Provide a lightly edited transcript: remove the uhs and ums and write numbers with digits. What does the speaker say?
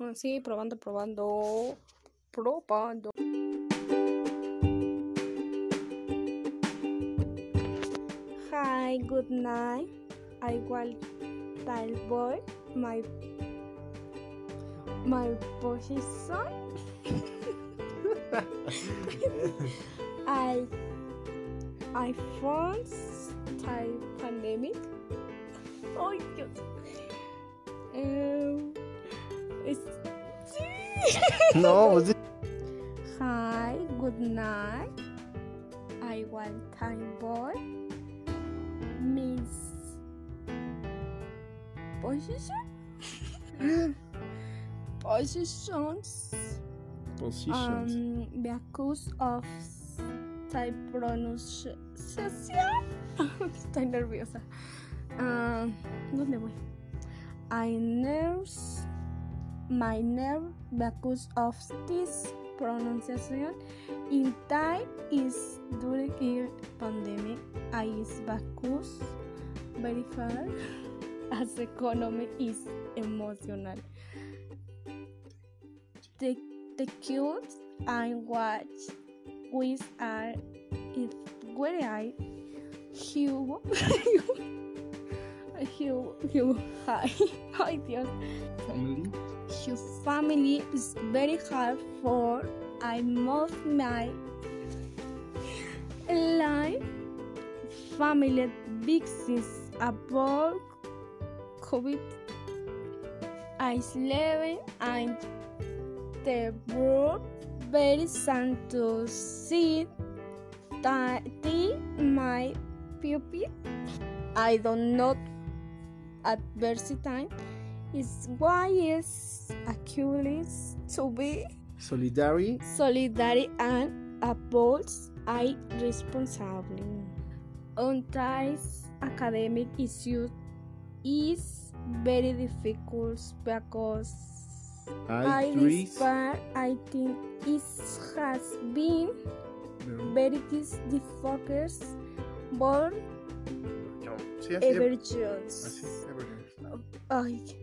Sí, probando. Hi, good night. I will tell boy my position. I found type pandemic. Oh, Dios. No, Hi, good night. I want time boy. Miss position. Positions. Because of type pronunciation. Estoy nerviosa. ¿Dónde voy? My nerve because of this pronunciation in time is during the pandemic. I is because very hard as economy is emotional. The kids I watch with are if where I Hugh hi Dios. Your family is very hard for I move my life family business about COVID 19 and the world very sad to see that my pupil I don't know adversity is why is Achilles to be solidary and upholds I responsibly. On ties academic issues is very difficult because I think it has been very difficult for every chance.